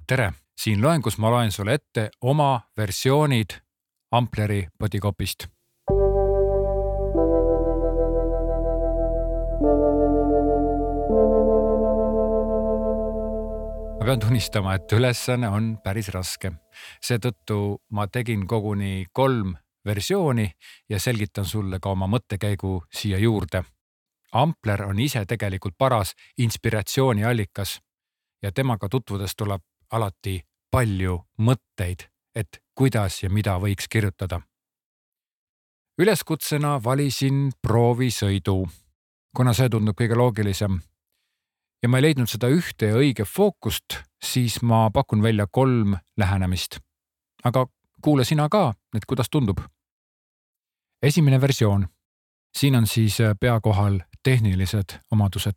Tere! Siin loengus ma loen sulle ette oma versioonid Ampleri bodycopist. Ma pean tunnistama, et ülesanne on päris raske. Seetõttu ma tegin koguni 3 versiooni ja selgitan sulle ka oma mõttekäigu siia juurde. Ampler on ise tegelikult paras inspiratsiooniallikas ja temaga tutvudes tuleb alati palju mõtteid, et kuidas ja mida võiks kirjutada. Üleskutsena valisin proovisõidu, kuna see tundub kõige loogilisem. Ja ma ei leidnud seda ühte ja õige fookust, siis ma pakun välja 3 lähenemist. Aga kuule sina ka, et kuidas tundub. Esimene versioon. Siin on siis peakohal tehnilised omadused.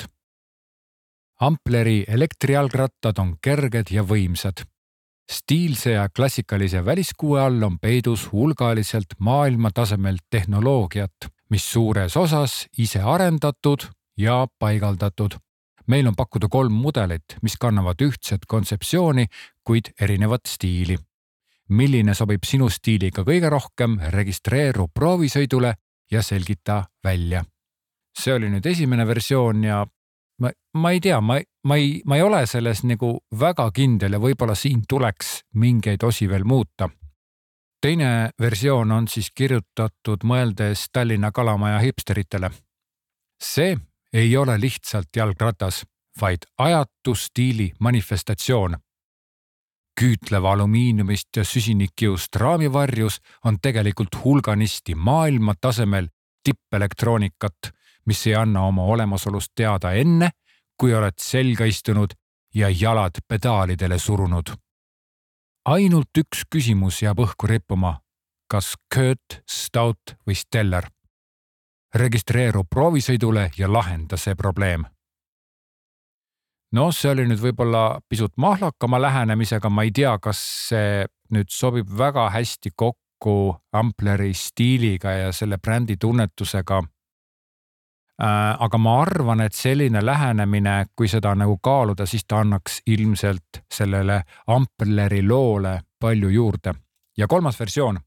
Ampleri elektrijalgrattad on kerged ja võimsad. Stiilse ja klassikalise väliskuue all on peidus hulgaliselt maailma tasemel tehnoloogiat, mis suures osas ise arendatud ja paigaldatud. Meil on pakkuda 3 mudelit, mis kannavad ühtset kontseptsiooni, kuid erinevat stiili. Milline sobib sinu stiiliga kõige rohkem, registreeru proovisõidule ja selgita välja. See oli nüüd esimene versioon ja ma ei tea, ma ei ole selles nagu väga kindel ja võib-olla siin tuleks mingeid osi veel muuta. Teine versioon on siis kirjutatud mõeldes Tallinna Kalamaja hipsteritele. See ei ole lihtsalt jalgratas, vaid ajatu stiili manifestatsioon. Küütleva alumiiniumist ja süsinikkiust raamivarjus on tegelikult hulganisti maailma tasemel tippelektroonikat, mis ei anna oma olemasolust teada enne, kui oled selga istunud ja jalad pedaalidele surunud. Ainult üks küsimus jääb õhku rippuma, kas Kurt, Stout või Stellar. Registreeru proovisõidule ja lahenda see probleem. No see oli nüüd võib-olla pisut mahlakama lähenemisega, ma ei tea, kas see nüüd sobib väga hästi kokku Ampleri stiiliga ja selle brändi tunnetusega. Aga ma arvan, et selline lähenemine, kui seda nagu kaaluda, siis ta annaks ilmselt sellele Ampleri loole palju juurde. Ja 3. versioon.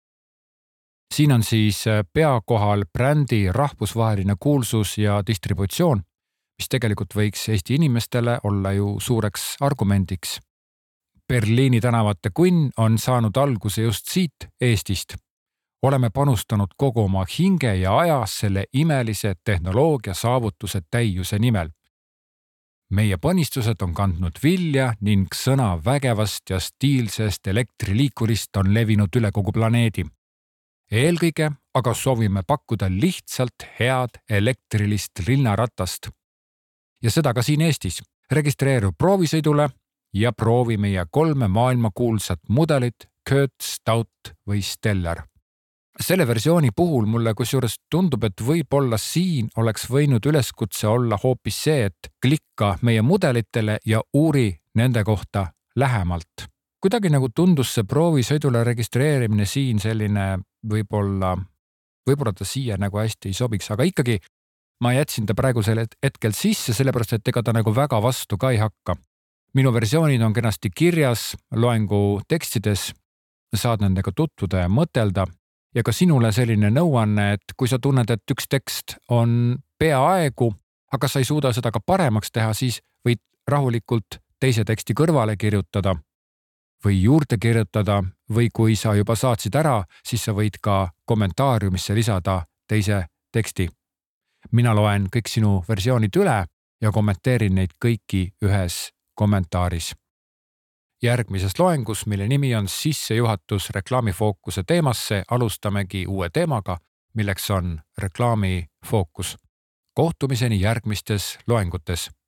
Siin on siis peakohal brändi rahvusvaheline kuulsus ja distributsioon, mis tegelikult võiks Eesti inimestele olla ju suureks argumendiks. Berliini tänavate kunn on saanud alguse just siit Eestist. Oleme panustanud kogu oma hinge ja aja selle imelise tehnoloogia saavutuse täiuse nimel. Meie panistused on kandnud vilja ning sõna vägevast ja stiilsest elektriliikurist on levinud üle kogu planeedi. Eelkõige aga soovime pakkuda lihtsalt head elektrilist linnaratast. Ja seda ka siin Eestis. Registreeru proovisõidule ja proovi meie 3 maailmakuulsat mudelit Kurt, Stout või Stellar. Selle versiooni puhul mulle kusjuures tundub, et võib-olla siin oleks võinud üleskutse olla hoopis see, et klikka meie mudelitele ja uuri nende kohta lähemalt. Kuidagi nagu tundus see proovisõidule registreerimine siin selline võib-olla ta siia nagu hästi ei sobiks, aga ikkagi ma jätsin ta praegusel hetkel sisse, sellepärast et ega ta nagu väga vastu ka ei hakka. Minu versioonid on kenasti kirjas loengu tekstides, saad nendega tutvuda ja mõtelda. Ja ka sinule selline nõuanne, et kui sa tunned, et üks tekst on peaaegu, aga sa ei suuda seda ka paremaks teha, siis võid rahulikult teise teksti kõrvale kirjutada või juurde kirjutada või kui sa juba saatsid ära, siis sa võid ka kommentaariumisse lisada teise teksti. Mina loen kõik sinu versioonid üle ja kommenteerin neid kõiki ühes kommentaaris. Järgmises loengus, mille nimi on sissejuhatus reklaamifookuse teemasse, alustamegi uue teemaga, milleks on reklaamifookus. Kohtumiseni järgmistes loengutes.